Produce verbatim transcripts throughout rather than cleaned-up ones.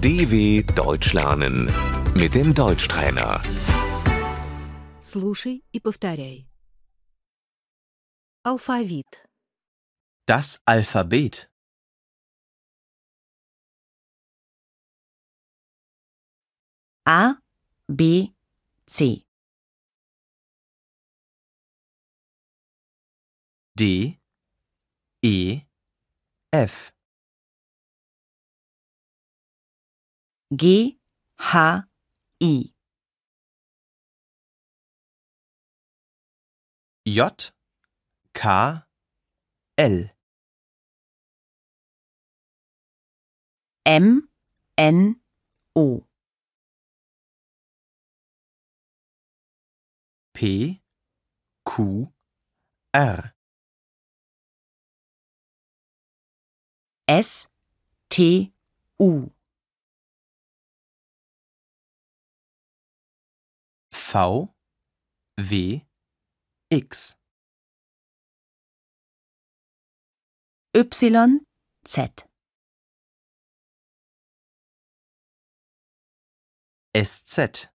D W Deutsch lernen mit dem Deutschtrainer. Слушай и повторяй. Алфавит. Das Alphabet. A, B, C. D, E, F. G, H, I. J, K, L. M, N, O. P, Q, R. S, T, U. V, W, X. Y, Z. S Z.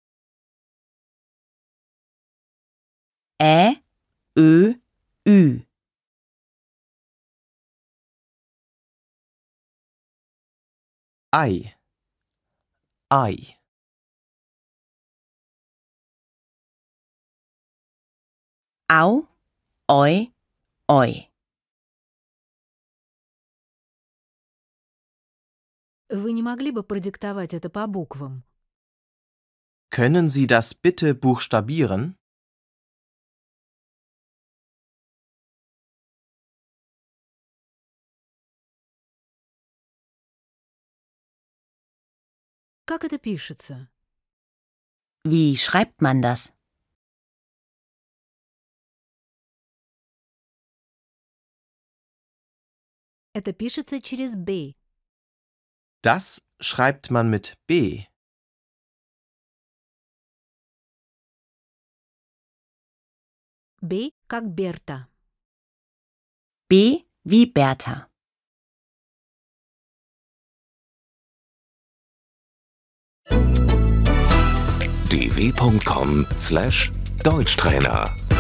Ä, Ö, Ü. I, I. Au, Oi, Oi. Вы не могли бы продиктовать это по буквам? Können Sie das bitte buchstabieren? Как это пишется? Wie schreibt man das? Это пишется через «б». Das schreibt man mit B. «Б» как Берта. B wie Bertha. d w punkt com slash Deutschtrainer